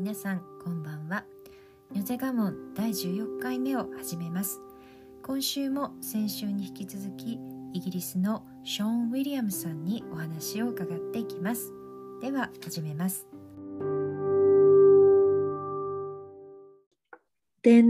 皆さんこんばんは。ニョゼガモン第14回目を始めます。今週も先週に引き続きイギリスのショーン・ウィリアムさんにお話を伺っていきます。では始めます。 Then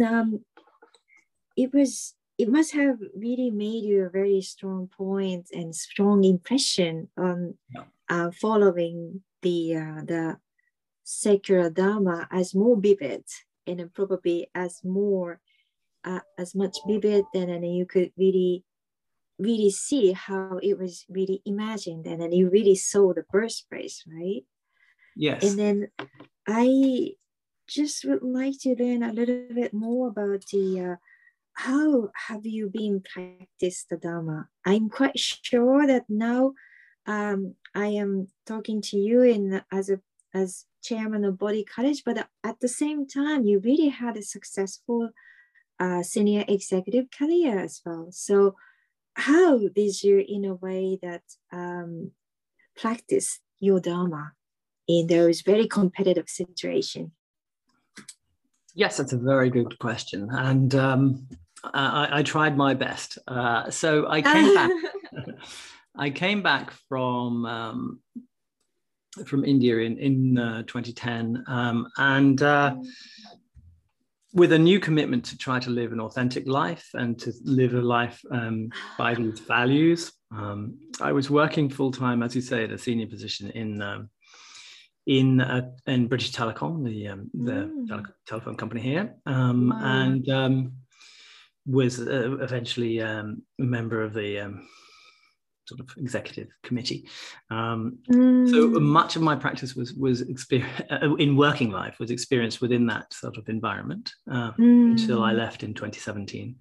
it must have really made you a very strong point and strong impression on following the secular Dharma as more vivid and probably as much vivid, and then you could really see how it was really imagined, and then you really saw the birthplace, right? Yes. And then I just would like to learn a little bit more about how have you been practiced the Dharma? I'm quite sure that now I am talking to you as chairman of Bodhi College, but at the same time, you really had a successful senior executive career as well. So how did you, in a way, that practice your Dharma in those very competitive situations? Yes, that's a very good question, and I tried my best. So I came back. I came back from India in 2010, and with a new commitment to try to live an authentic life and to live a life by these values. I was working full time, as you say, at a senior position in British Telecom, the telephone company here, and was eventually a member of the sort of executive committee. So much of my practice was in working life was experienced within that sort of environment until I left in 2017.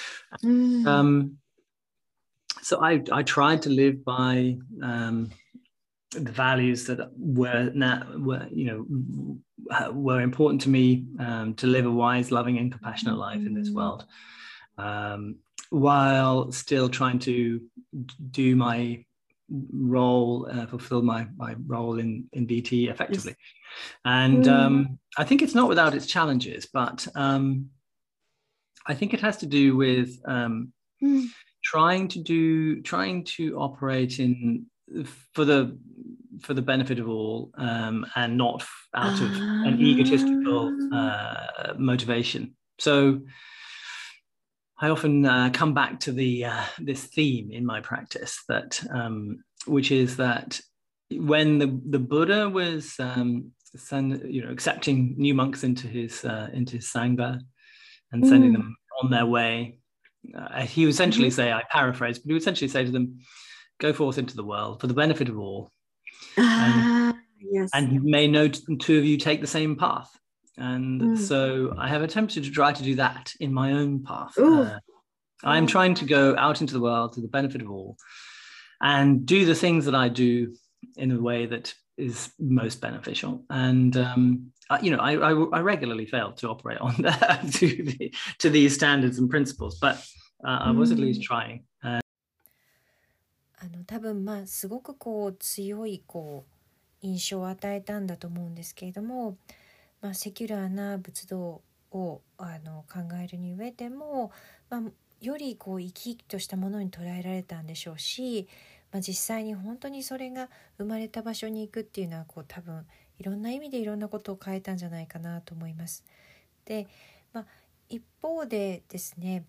So I tried to live by the values that were important to me, to live a wise, loving, and compassionate life in this world, while still trying to do my role, fulfill my role in BT effectively. And I think it's not without its challenges, but I think it has to do with trying to operate for the benefit of all, and not out of an egotistical motivation. So I often come back to this theme in my practice, that which is that when the Buddha was accepting new monks into his sangha and sending them on their way, he would essentially say, I paraphrase, but he would essentially say to them, go forth into the world for the benefit of all. Yes. And may no two of you take the same path. And so I have attempted to try to do that in my own path. I'm trying to go out into the world to the benefit of all and do the things that I do in a way that is most beneficial. And I regularly fail to operate on that to these standards and principles, but I was at least trying. 多分すごく強い印象を与えたんだと思うんですけれども、セキュラーな仏道を考えるに上でも、より生き生きとしたものに捉えられたんでしょうし、実際に本当にそれが生まれた場所に行くっていうのは多分いろんな意味でいろんなことを変えたんじゃないかなと思います。で、一方でですね、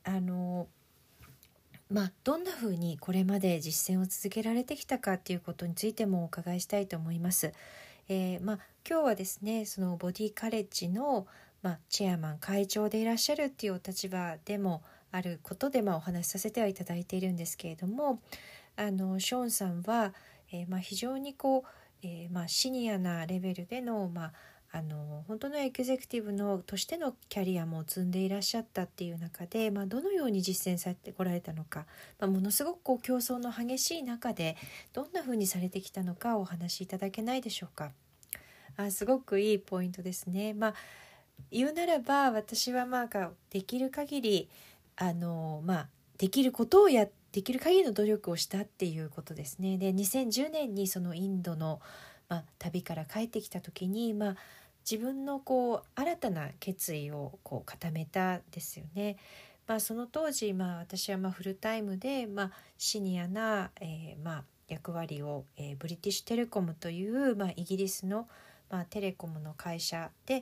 どんなふうにこれまで実践を続けられてきたかっていうことについてもお伺いしたいと思います。今日はですね、そのボディカレッジの、チェアマン会長でいらっしゃるっていうお立場でもあることで、お話しさせてはいただいているんですけれども、ショーンさんは、非常にシニアなレベルでの、本当のエグゼクティブのとしてのキャリアも積んでいらっしゃったっていう中で、どのように実践されてこられたのか、ものすごく競争の激しい中でどんなふうにされてきたのかお話しいただけないでしょうか。すごくいいポイントですね。言うならば私はできる限りできることをできる限りの努力をしたっていうことですね。で、2010年にそのインドの、旅から帰ってきた時に、 自分のこう新たな決意をこう固めたですよね。その当時、私はフルタイムで、シニアな、役割を、ブリティッシュテレコムという、イギリスの、テレコムの会社で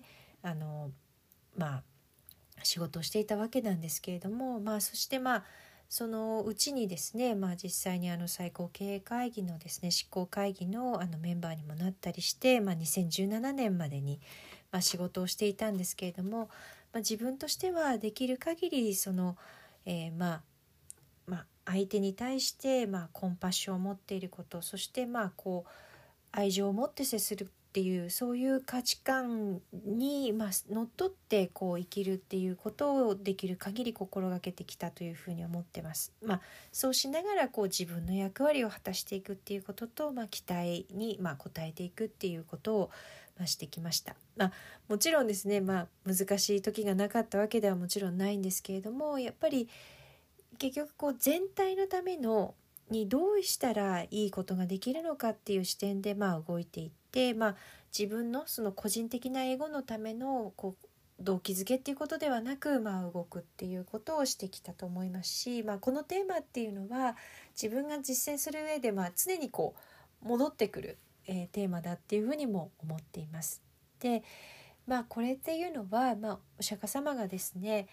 仕事をしていたわけなんですけれども、そしてそのうちにですね、実際に最高経営会議のですね執行会議のメンバーにもなったりして、2017年までに仕事をしていたんですけれども、自分としてはできる限りその、相手に対して、コンパッションを持っていること、そしてこう愛情を持って接するっていうそういう価値観に、のっとってこう生きるっていうことをできる限り心がけてきたというふうに思ってます。そうしながらこう自分の役割を果たしていくっていうことと、期待に応えていくっていうことをしてきました。もちろんですね、難しい時がなかったわけではもちろんないんですけれども、やっぱり結局こう全体のためのにどうしたらいいことができるのかっていう視点で動いていって、自分のその個人的なエゴのためのこう動機づけっていうことではなく、動くっていうことをしてきたと思いますし、このテーマっていうのは自分が実践する上で常にこう戻ってくる、テーマだっていうふうにも思っています。で、これっていうのは、お釈迦様がですね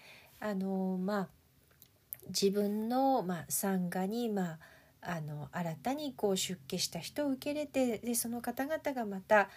自分の参加に新たにこう出家した人を受け入れて、でその方々がまた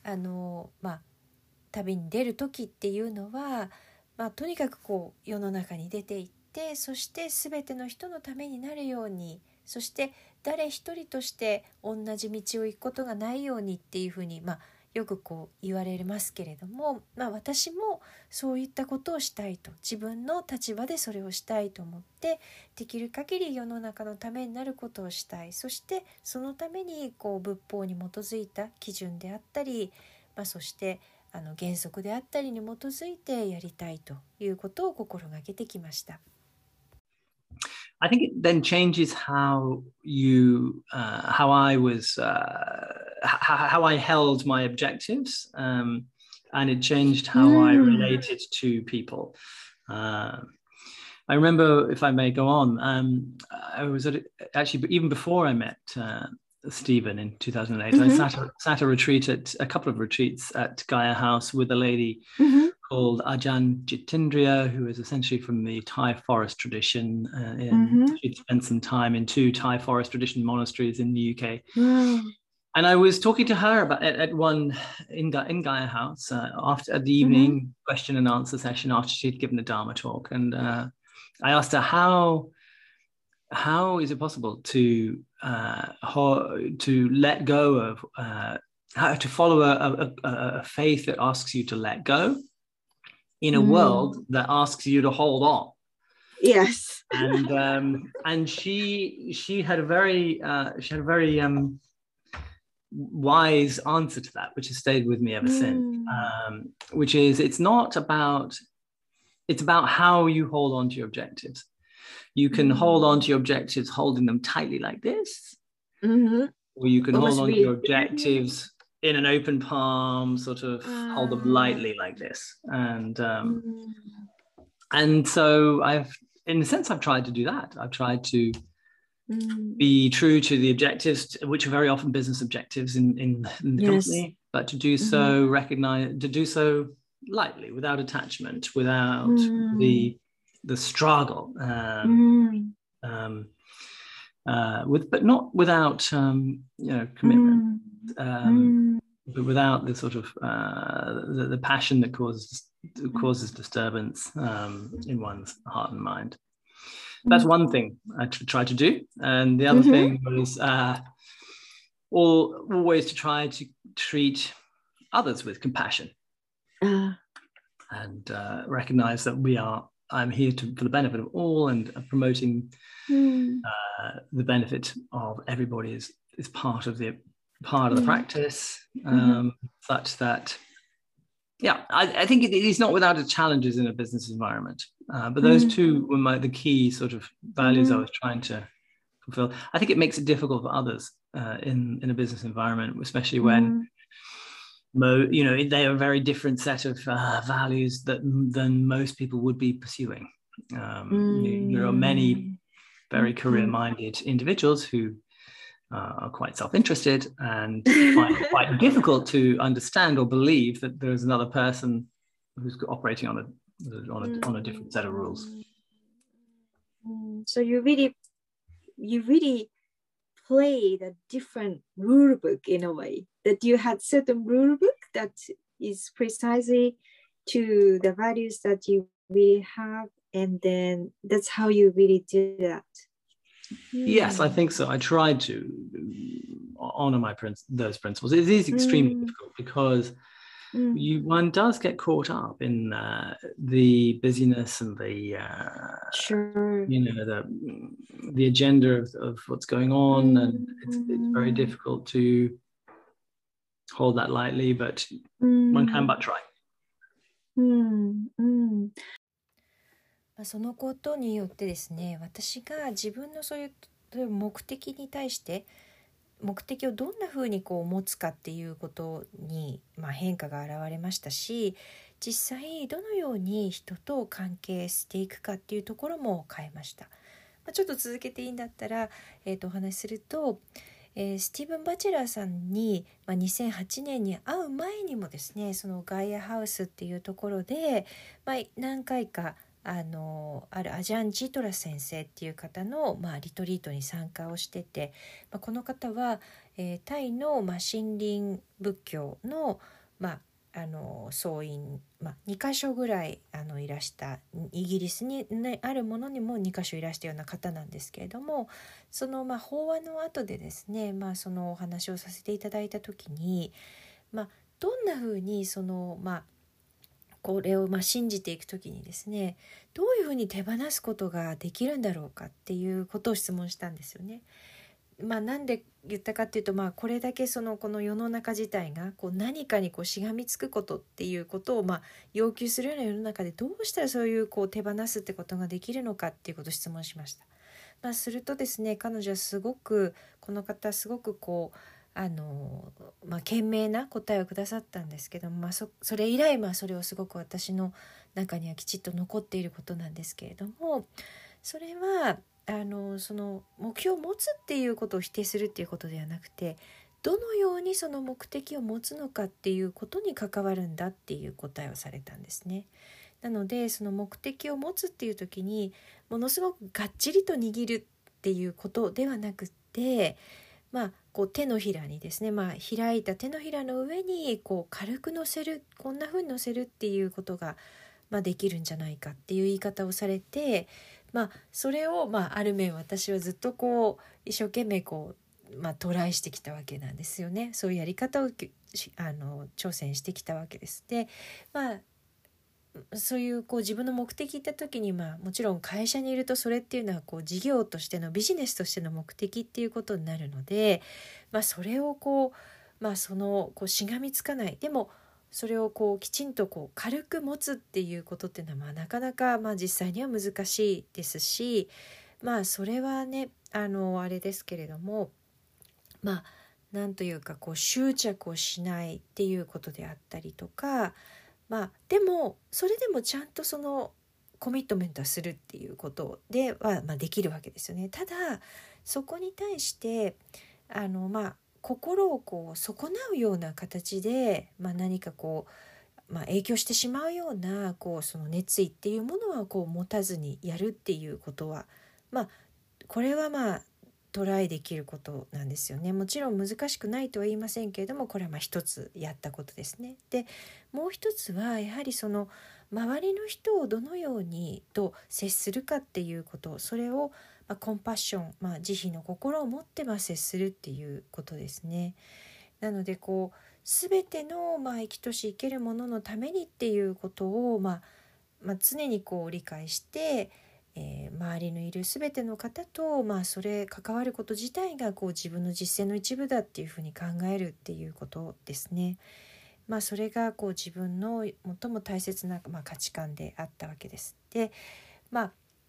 旅に出る時っていうのは、とにかくこう世の中に出ていって、そして全ての人のためになるように、そして誰一人として同じ道を行くことがないようにっていうふうに、よくこう言われますけれども、私もそういったことをしたいと、自分の立場でそれをしたいと思って、できる限り世の中のためになることをしたい。そしてそのためにこう仏法に基づいた基準であったり、そして原則であったりに基づいてやりたいということを心がけてきました。 I think it then changes how how I was, how I held my objectives, and it changed how I related to people. I remember, if I may go on, I was actually even before I met Stephen in 2008, I sat a retreat at a couple of retreats at Gaia House with a lady called Ajahn Jitindriya, who is essentially from the Thai forest tradition. She'd spent some time in 2 Thai forest tradition monasteries in the UK. And I was talking to her about at one in Gaia House after the evening question and answer session after she'd given the Dharma talk, and I asked her how is it possible to let go of how to follow a faith that asks you to let go in a world that asks you to hold on. Yes. And she had a very wise answer to that, which has stayed with me ever since, which is it's about how you hold on to your objectives. You can hold on to your objectives holding them tightly like this, or you can hold on to your objectives in an open palm, sort of hold them lightly like this. And so in a sense, I've tried to do that. I've tried to be true to the objectives, which are very often business objectives in the company, but to do so, to do so lightly, without attachment, without the struggle, but not without commitment, but without the sort of the passion that causes disturbance in one's heart and mind. That's one thing I try to do, and the other thing was always to try to treat others with compassion, and recognize that I'm here for the benefit of all, and promoting the benefit of everybody is part of the practice, such that I think it is not without its challenges in a business environment, but those two were the key sort of values I was trying to fulfill. I think it makes it difficult for others in a business environment, especially when they are a very different set of values than most people would be pursuing. There are many very career-minded individuals who are quite self-interested and find it quite difficult to understand or believe that there is another person who's operating on a different set of rules. So you really played a different rule book in a way, that you had certain rule book that is precisely to the values that you really have, and then that's how you really did that. Yes, I think so. I tried to honor those principles. It is extremely difficult because one does get caught up in the busyness and the the agenda of what's going on, and it's very difficult to hold that lightly, but one can but try. そのことによってですね、私が自分のそういう目的に対して目的をどんなふうに持つかっていうことに、変化が現れましたし、実際どのように人と関係していくかっていうところも変えました。ちょっと続けていいんだったら、お話しすると、スティーブン・バチェラーさんに、2008年に会う前にもですね、そのガイアハウスっていうところで、何回かあるアジャン・ジトラ先生っていう方の、リトリートに参加をしてて、この方は、タイの、森林仏教の、僧院、2カ所ぐらいいらしたイギリスに、あるものにも2カ所いらしたような方なんですけれども、その、法話の後でですね、そのお話をさせていただいた時に、どんなふうにそのこれを信じていくときにですね、どういうふうに手放すことができるんだろうかっていうことを質問したんですよね。なんで言ったかっていうと、これだけこの世の中自体が何かにしがみつくことっていうことを要求するような世の中で、どうしたらそういう手放すってことができるのかっていうことを質問しました。するとですね、彼女はこの方すごく賢明な答えをくださったんですけども、それ以来それをすごく私の中にはきちっと残っていることなんですけれども、それはその目標を持つっていうことを否定するっていうことではなくて、どのようにその目的を持つのかっていうことに関わるんだっていう答えをされたんですね。なのでその目的を持つっていう時にものすごくがっちりと握るっていうことではなくて、手のひらにですね、開いた手のひらの上に軽く乗せる、こんな風に乗せるっていうことが、できるんじゃないかっていう言い方をされて、それをある面私はずっと一生懸命トライしてきたわけなんですよね。そういうやり方を挑戦してきたわけです。で、そういう自分の目的言った時に、もちろん会社にいるとそれっていうのは事業としてのビジネスとしての目的っていうことになるので、それをしがみつかない、でもそれをきちんと軽く持つっていうことっていうのはなかなか実際には難しいですし、それはねあれですけれども、なんというか執着をしないっていうことであったりとか、でもそれでもちゃんとそのコミットメントはするっていうことでは、できるわけですよね。ただそこに対して心を損なうような形で、何か影響してしまうようなその熱意っていうものは持たずにやるっていうことは、これはトライできることなんですよね。もちろん難しくないとは言いませんけれども、これは一つやったことですね。でもう一つはやはりその周りの人をどのようにと接するかっていうこと、それをコンパッション、慈悲の心を持って接するっていうことですね。なので全ての生きとし生けるもののためにっていうことを常に理解して、周りのいる全ての方と、それ関わること自体が自分の実践の一部だっていうふうに考えるっていうことですね。それが自分の最も大切な、価値観であったわけです。で、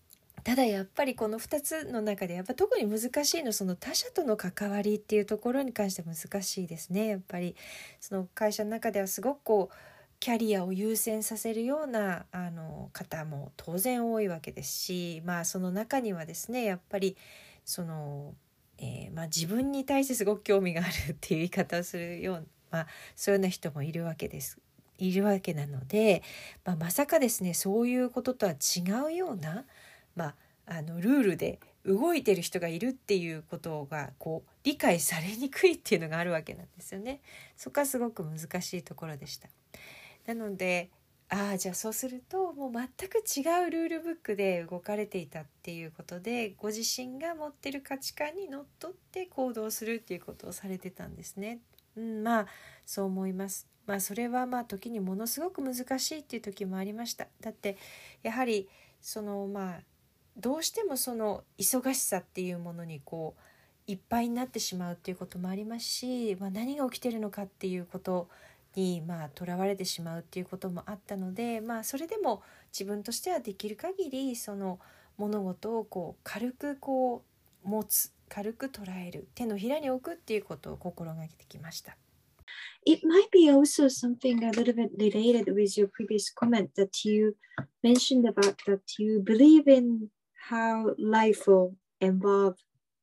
ただやっぱりこの2つの中でやっぱ特に難しいのその他者との関わりっていうところに関しては難しいですね。やっぱりその会社の中ではすごくこうキャリアを優先させるような方も当然多いわけですし、その中にはですねやっぱりその、自分に対してすごく興味があるっていう言い方をするような、そういうような人もいるわけなので、まさかですねそういうこととは違うような、ルールで動いてる人がいるっていうことがこう理解されにくいっていうのがあるわけなんですよね。そこはすごく難しいところでした。なのでじゃあそうするともう全く違うルールブックで動かれていたっていうことで、ご自身が持ってる価値観にのっとって行動するっていうことをされてたんですね。そう思います。それは時にものすごく難しいっていう時もありました。だってやはりそのどうしてもその忙しさっていうものにこういっぱいになってしまうっていうこともありますし、何が起きてるのかっていうことにとらわれてしまうっていうこともあったので、それでも自分としてはできる限りその物事をこう軽くこう持つ、軽く捉える、手のひらに置くっていうことを心がけてきました。 It might be also something a little bit related with your previous comment that you mentioned about that you believe in how life will evolve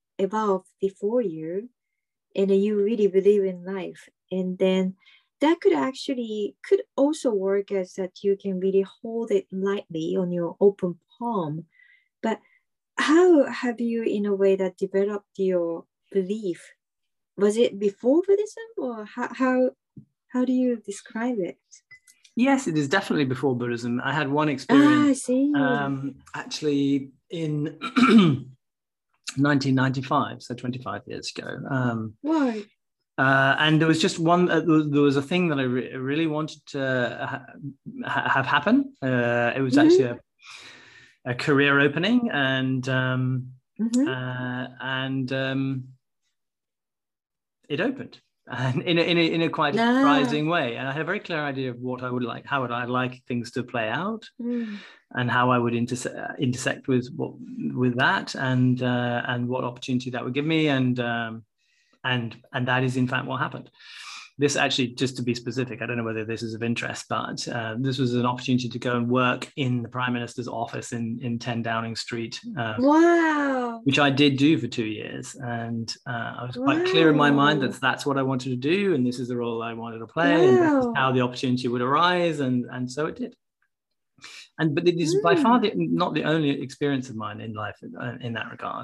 before you, and you really believe in life, and then that could also work as that you can really hold it lightly on your open palm. But how have you in a way that developed your belief? Was it before Buddhism, or how do you describe it? Yes, it is definitely before Buddhism. I had one experience I see. Actually in 1995, so 25 years ago. Why? And there was just one, there was a thing that I really wanted to have happen. It was actually a career opening, and it opened, and in a quite surprising way. And I had a very clear idea of what I would like, how would I like things to play out, and how I would intersect with that, and what opportunity that would give me, and that is in fact what happened. This actually, just to be specific, I don't know whether this is of interest, but this was an opportunity to go and work in the Prime Minister's office in 10 Downing Street. Wow. Which I did do for 2 years. And I was quite clear in my mind that that's what I wanted to do, and this is the role I wanted to play, and this is how the opportunity would arise, and so it did. But it is by far not the only experience of mine in life in that regard.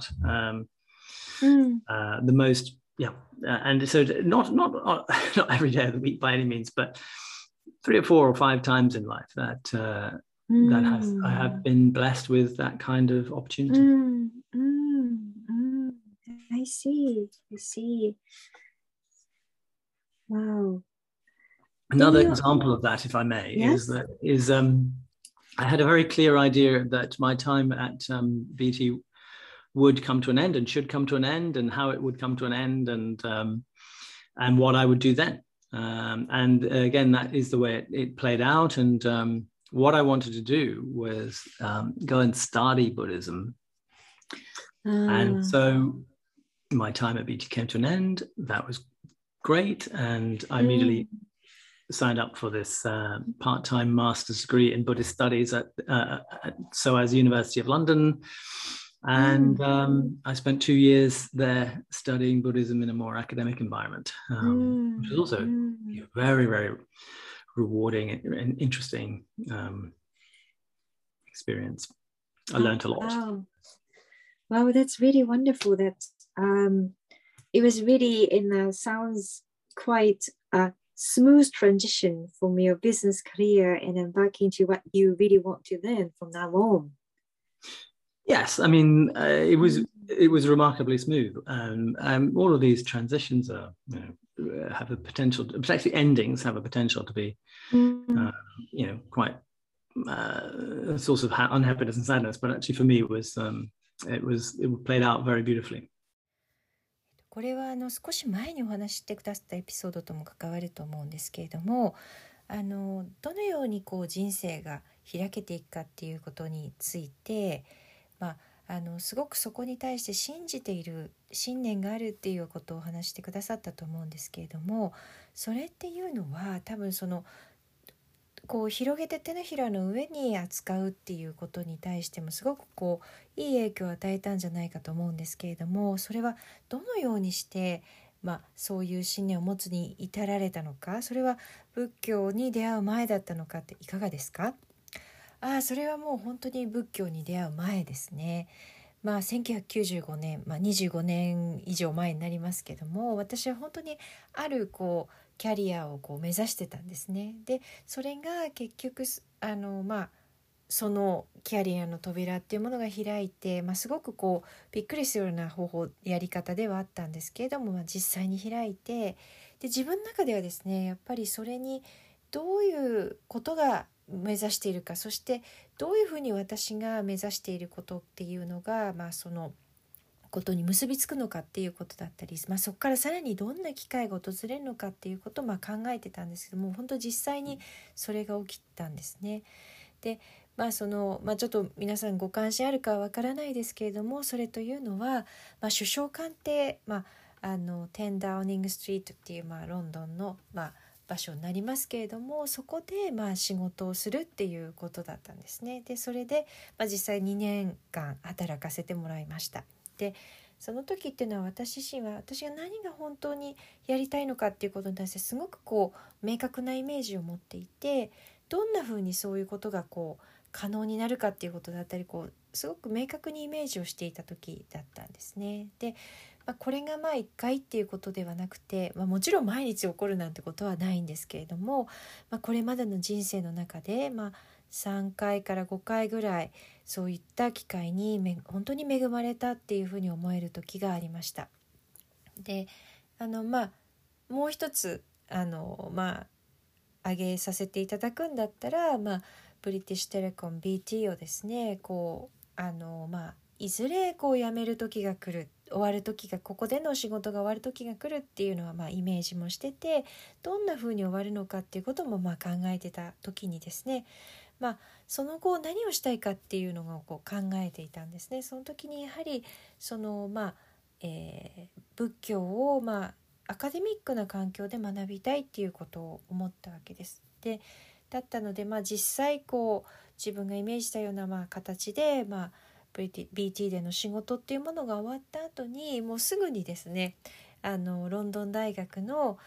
The most... and so not every day of the week by any means, but 3 or 4 or 5 times in life that I have been blessed with that kind of opportunity. I see. Wow. Another example of that, if I may, is I had a very clear idea that my time at BT would come to an end and should come to an end, and how it would come to an end, and what I would do then. And again, that is the way it played out. And what I wanted to do was go and study Buddhism. And so my time at BT came to an end. That was great. And I immediately signed up for this part-time master's degree in Buddhist studies at SOAS University of London. And I spent 2 years there studying Buddhism in a more academic environment, which is also very, very rewarding and interesting experience. I learned a lot. Wow, that's really wonderful. That it was really sounds quite a smooth transition from your business career and then back into what you really want to learn from now on. Yes, I mean it was remarkably smooth. All of these transitions are, have a potential, particularly endings, have a potential to be, quite a source of unhappiness and sadness. But actually, for me, it played out very beautifully. これは少し前にお話ししてくださったエピソードとも関わると思うんですけれども、どのようにこう人生が開けていくかっていうことについて、 すごくそこに対して信じている信念があるっていうことを話してくださったと思うんですけれども、それっていうのは多分こう広げて手のひらの上に扱うっていうことに対してもすごくこういい影響を与えたんじゃないかと思うんですけれども、それはどのようにして、そういう信念を持つに至られたのか、それは仏教に出会う前だったのかっていかがですか？それはもう本当に仏教に出会う前ですね。1995年、25年以上前になりますけども、私は本当にあるキャリアを目指してたんですね。でそれが結局そのキャリアの扉っていうものが開いて、すごくびっくりするようなやり方ではあったんですけれども、実際に開いて、で自分の中ではですね、やっぱりそれにどういうことが目指しているか、そしてどういうふうに私が目指していることっていうのが、そのことに結びつくのかっていうことだったり、そこからさらにどんな機会が訪れるのかっていうことを考えてたんですけども、本当実際にそれが起きたんですね。でちょっと皆さんご関心あるかはわからないですけれども、それというのは、首相官邸、10ダウニングストリートっていう、ロンドンの、場所になりますけれども、そこで仕事をするっていうことだったんですね。でそれで、実際2年間働かせてもらいました。でその時っていうのは私自身は私が何が本当にやりたいのかっていうことに対してすごく明確なイメージを持っていて、どんな風にそういうことが可能になるかっていうことだったり、すごく明確にイメージをしていた時だったんですね。でこれが1回っていうことではなくて、もちろん毎日起こるなんてことはないんですけれども、これまでの人生の中で、3回から5回ぐらいそういった機会に本当に恵まれたっていうふうに思える時がありました。でもう一つ挙げさせていただくんだったら、ブリティッシュテレコン BT をですね、いずれ辞める時が来る、終わる時が、ここでの仕事が終わる時が来るっていうのはイメージもしてて、どんな風に終わるのかっていうことも考えてた時にですね、その後何をしたいかっていうのを考えていたんですね。その時にやはり仏教をアカデミックな環境で学びたいっていうことを思ったわけです。でだったので、実際自分がイメージしたような形でBT での仕事っていうものが終わった後に、もうすぐにですね、ロンドン大学の、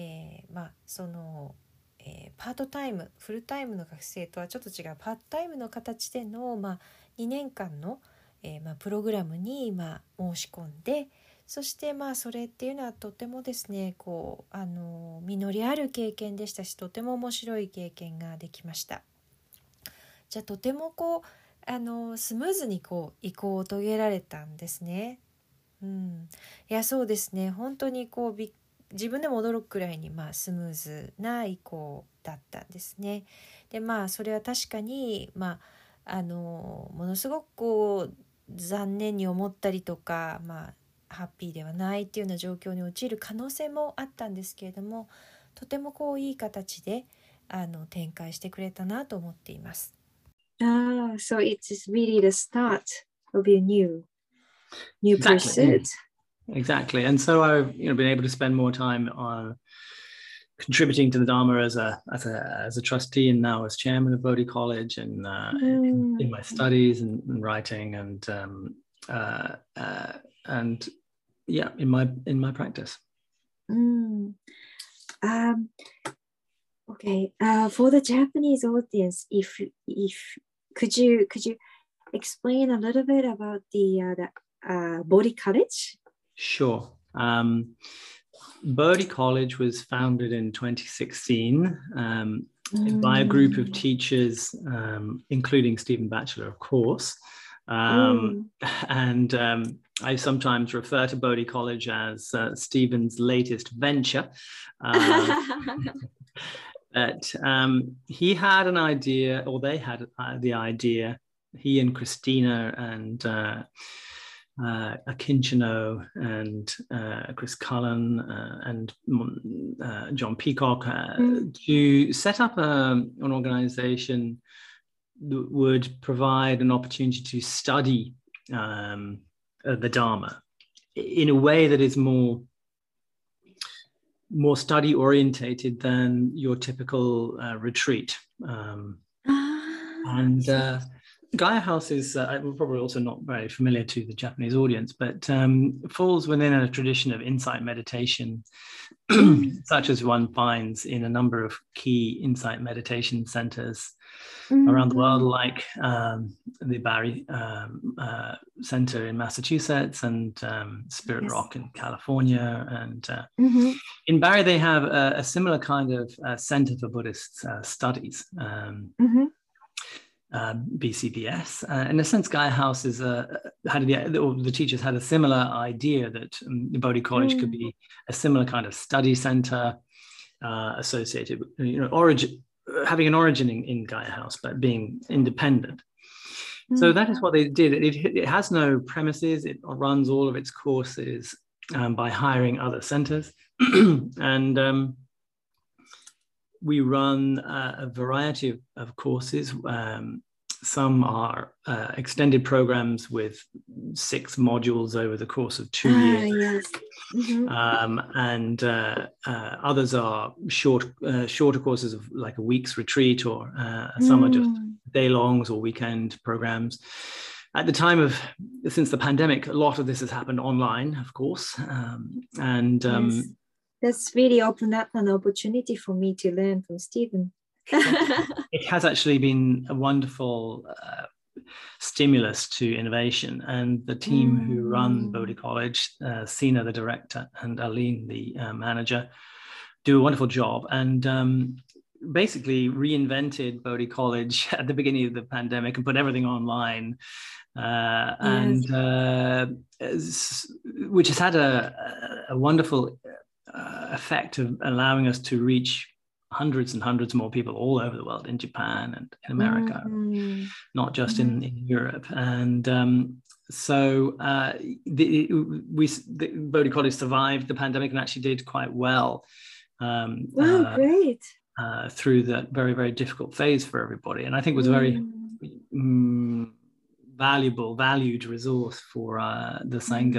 パートタイム、フルタイムの学生とはちょっと違うパートタイムの形での、2年間の、プログラムに申し込んで、そしてそれっていうのはとてもですね、実りある経験でしたし、とても面白い経験ができました。じゃあとてもスムーズに移行を遂げられたんですね。いやそうですね、本当に自分でも驚くくらいにスムーズな移行だったんですね。でそれは確かにものすごく残念に思ったりとか、ハッピーではないっていうような状況に陥る可能性もあったんですけれども、とてもいい形で展開してくれたなと思っています。 So it's really the start of your new Exactly. pursuit. Exactly. And so I've been able to spend more time on contributing to the Dharma as a trustee, and now as chairman of Bodhi College, and in my studies and writing, and in my practice. Okay. For the Japanese audience, if could you explain a little bit about the Bodhi College? Sure. Bodhi College was founded in 2016 by a group of teachers, including Stephen Batchelor, of course. And I sometimes refer to Bodhi College as Stephen's latest venture. That he had an idea, or they had the idea, he and Christina and Akinchino and Chris Cullen and John Peacock to set up an organization that would provide an opportunity to study the Dharma in a way that is more study orientated than your typical retreat. Gaia House is probably also not very familiar to the Japanese audience, but falls within a tradition of insight meditation, such as one finds in a number of key insight meditation centers around the world, like the Barry Center in Massachusetts and Spirit Rock in California. And in Barry, they have a similar kind of center for Buddhist studies. BCBS. In a sense, Gaia House is the teachers had a similar idea that the Bodhi College could be a similar kind of study center associated with, having an origin in Gaia House, but being independent. So that is what they did. It has no premises. It runs all of its courses by hiring other centers. And we run a variety of courses. Some are extended programs with 6 modules over the course of 2 years. And others are shorter courses of like a week's retreat, or some are just day-longs or weekend programs. At the time since the pandemic, a lot of this has happened online, of course. That's really opened up an opportunity for me to learn from Stephen. It has actually been a wonderful stimulus to innovation, and the team who run Bodhi College, Sina, the director, and Aline, the manager, do a wonderful job, and basically reinvented Bodhi College at the beginning of the pandemic and put everything online, which has had a wonderful effect of allowing us to reach hundreds and hundreds more people all over the world, in Japan and in America, not just in Europe. And so the Bodhi College survived the pandemic and actually did quite well. Great. Through that very, very difficult phase for everybody. And I think it was a very valued resource for the Sangha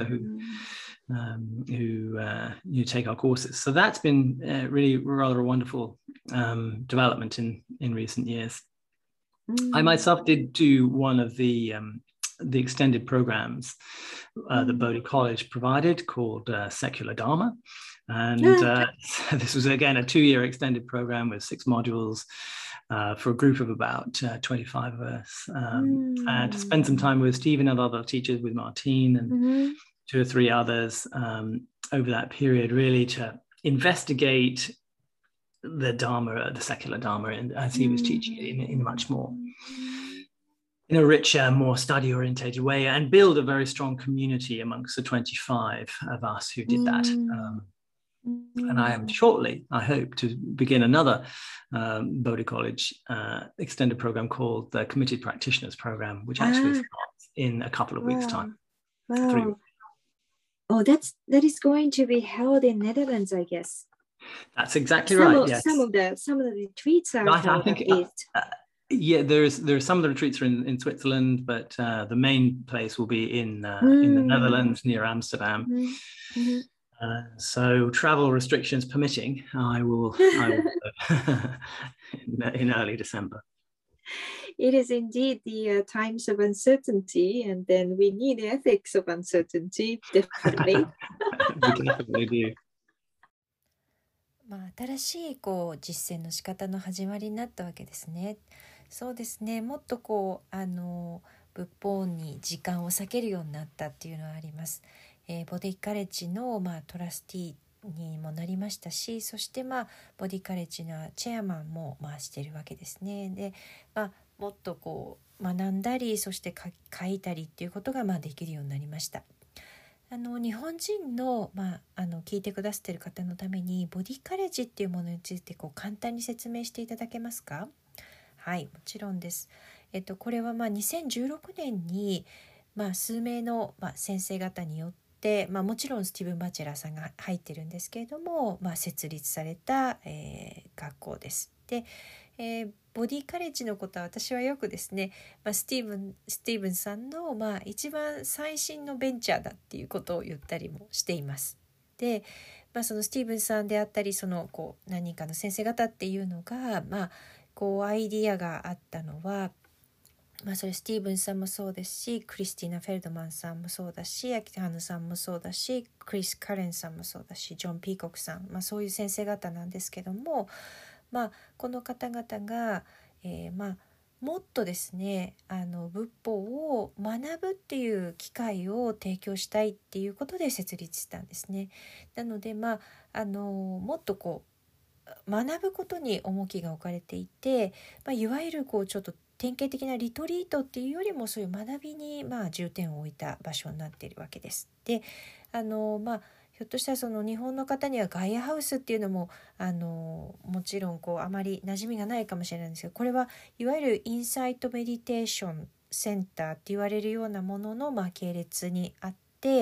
who take our courses. So that's been really rather a wonderful development in recent years. I myself did do one of the extended programs that Bodhi College provided, called Secular Dharma. And this was, again, a 2-year extended program with 6 modules for a group of about 25 of us. And to spend some time with Stephen and other teachers, with Martine and 2 or 3 others over that period, really to investigate the Dharma, the secular Dharma, as he was teaching it in a much more, in a richer, more study-orientated way, and build a very strong community amongst the 25 of us who did that. And I am shortly, I hope, to begin another Bodhi College extended program called the Committed Practitioners Program, which actually starts in a couple of weeks' time. 3 weeks. Oh, that is going to be held in Netherlands, I guess. That's exactly right. Yes. Some of the retreats are held at East. There's some of the retreats are in Switzerland, but the main place will be in the Netherlands, near Amsterdam. So travel restrictions permitting, I will in early December. It is indeed the times of uncertainty, and then we need the ethics of uncertainty, definitely. We definitely do. 新しい実践の仕方の始まりになったわけですね。そうですね。もっと仏法に時間を割けるようになったっていうのはあります。ボディカレッジのトラスティにもなりましたし、そしてボディカレッジのチェアマンもしているわけですね。で、もっと学んだり、そして書いたりっていうことができるようになりました。日本人の、聞いてくださっている方のためにボディカレッジっていうものについて簡単に説明していただけますか？はい、もちろんです。これは2016年に、数名の、先生方によって、もちろんスティーブン・バチェラーさんが入ってるんですけれども、設立された、学校です。 で、ボディカレッジのことは私はよくですね、スティーブンさんの、一番最新のベンチャーだっていうことを言ったりもしています。で、そのスティーブンさんであったり何人かの先生方っていうのが、アイディアがあったのは、それスティーブンさんもそうですし、クリスティーナ・フェルドマンさんもそうだし、アキハヌさんもそうだし、クリス・カレンさんもそうだし、ジョン・ピーコックさん、そういう先生方なんですけども、この方々が、もっとですね仏法を学ぶっていう機会を提供したいっていうことで設立したんですね。なのでもっと学ぶことに重きが置かれていて、いわゆるちょっと典型的なリトリートっていうよりもそういう学びに重点を置いた場所になっているわけです。でひょっとしたらその日本の方にはガイアハウスっていうのももちろんあまり馴染みがないかもしれないんですけど、これはいわゆるインサイトメディテーションセンターって言われるようなものの系列にあって、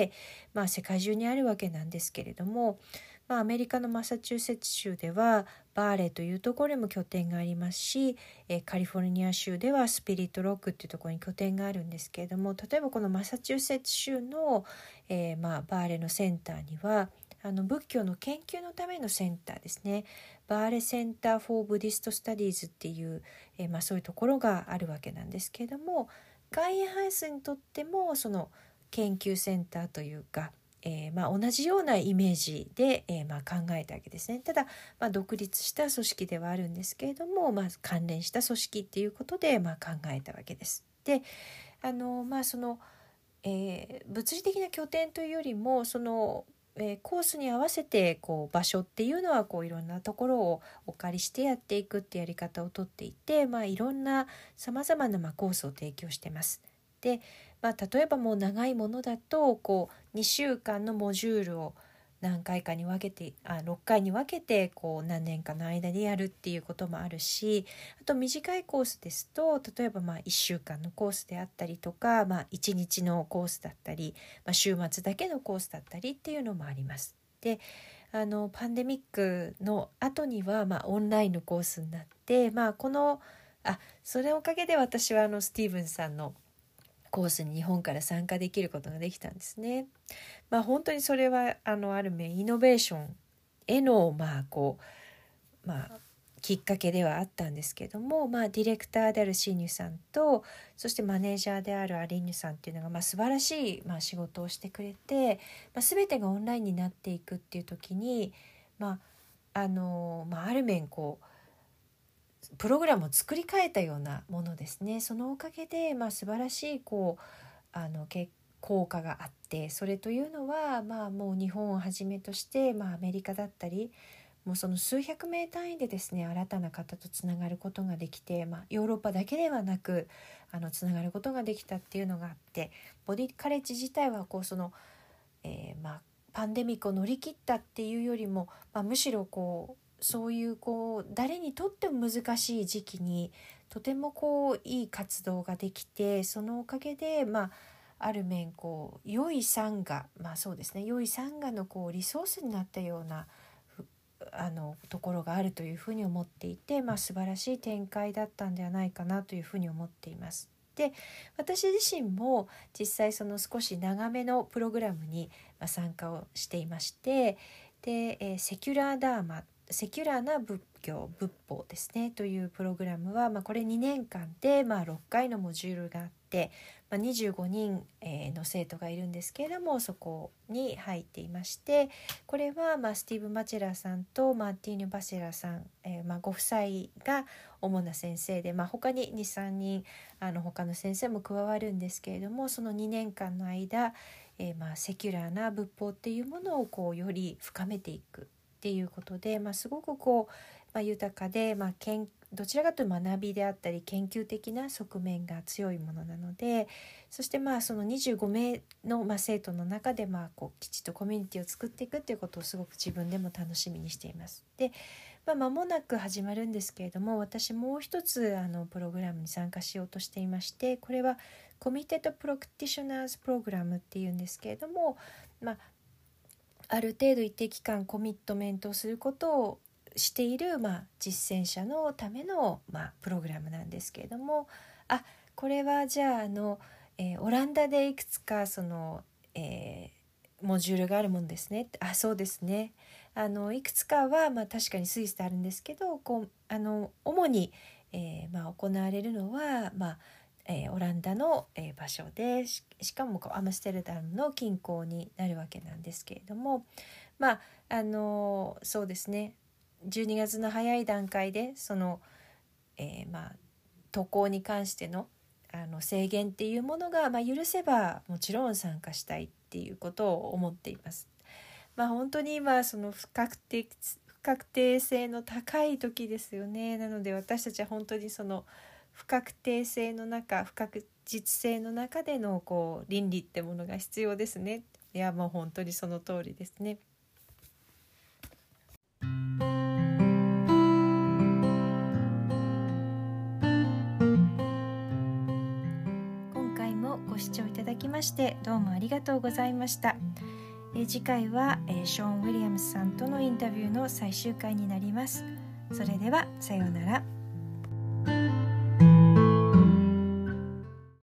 世界中にあるわけなんですけれども、アメリカのマサチューセッツ州ではバーレというところにも拠点がありますし、カリフォルニア州ではスピリットロックっていうところに拠点があるんですけれども、例えばこのマサチューセッツ州の、バーレのセンターには仏教の研究のためのセンターですね、バーレセンター・フォー・ブディスト・スタディーズっていう、そういうところがあるわけなんですけれども、ガイアハウスにとってもその研究センターというか、同じようなイメージで、考えたわけですね。ただ、独立した組織ではあるんですけれども、関連した組織っていうことで、考えたわけです。でその、物理的な拠点というよりもその、コースに合わせて場所っていうのはいろんなところをお借りしてやっていくってやり方をとっていて、いろんなさまざまなコースを提供してます。で例えばもう長いものだと2週間のモジュールを何回かに分けて6回に分けて何年かの間でやるっていうこともあるし、あと短いコースですと例えば1週間のコースであったりとか、1日のコースだったり、週末だけのコースだったりっていうのもあります。でパンデミックの後には、オンラインのコースになって、それおかげで私はスティーブンさんのコースに日本から参加できることができたんですね。本当にそれはある面イノベーションへのきっかけではあったんですけども、ディレクターであるシーニュさんとそしてマネージャーであるアリーニュさんっていうのが素晴らしい仕事をしてくれて、全てがオンラインになっていくっていう時にある面プログラムを作り変えたようなものですね。そのおかげで素晴らしい効果があって、それというのはもう日本をはじめとしてアメリカだったりもうその数百名単位でですね新たな方とつながることができて、ヨーロッパだけではなくつながることができたっていうのがあって、ボディカレッジ自体はパンデミックを乗り切ったっていうよりも、むしろそういう誰にとっても難しい時期にとてもいい活動ができて、そのおかげである面良いサンガ、そうですね、良いサンガのリソースになったようなところがあるというふうに思っていて、素晴らしい展開だったんではないかなというふうに思っています。で私自身も実際その少し長めのプログラムに参加をしていまして、でセキュラーダーマ、セキュラーな仏法ですねというプログラムは、これ2年間で6回のモジュールがあって、25人の生徒がいるんですけれども、そこに入っていまして、これはスティーブ・マチェラーさんとマーティーヌ・バセラさん、ご夫妻が主な先生で、他に 2,3 人他の先生も加わるんですけれども、その2年間の間、セキュラーな仏法っていうものをより深めていくっていうことで、すごく豊かで、どちらかというと学びであったり研究的な側面が強いものなので、そしてその25名の生徒の中できちっとコミュニティを作っていくっていうことをすごく自分でも楽しみにしています。で間もなく始まるんですけれども、私もう一つプログラムに参加しようとしていまして、これはコミテッドプロクティショナーズプログラムっていうんですけれども、ある程度一定期間コミットメントをすることをしている、実践者のための、プログラムなんですけれども、これはじゃあオランダでいくつかその、モジュールがあるもんですね。そうですね。いくつかは、確かにスイスであるんですけど、主に、行われるのは、オランダの、場所で しかもアムステルダムの近郊になるわけなんですけれども、そうですね、12月の早い段階でその、渡航に関しての制限っていうものが、許せばもちろん参加したいっていうことを思っています。本当に今その不確定性の高い時ですよね。なので私たちは本当にその不確定性の中、不確実性の中での倫理ってものが必要ですね。いや、もう本当にその通りですね。ご視聴いただきましてどうもありがとうございました。次回は、ショーン・ウィリアムスさんとのインタビューの最終回になります。それではさようなら。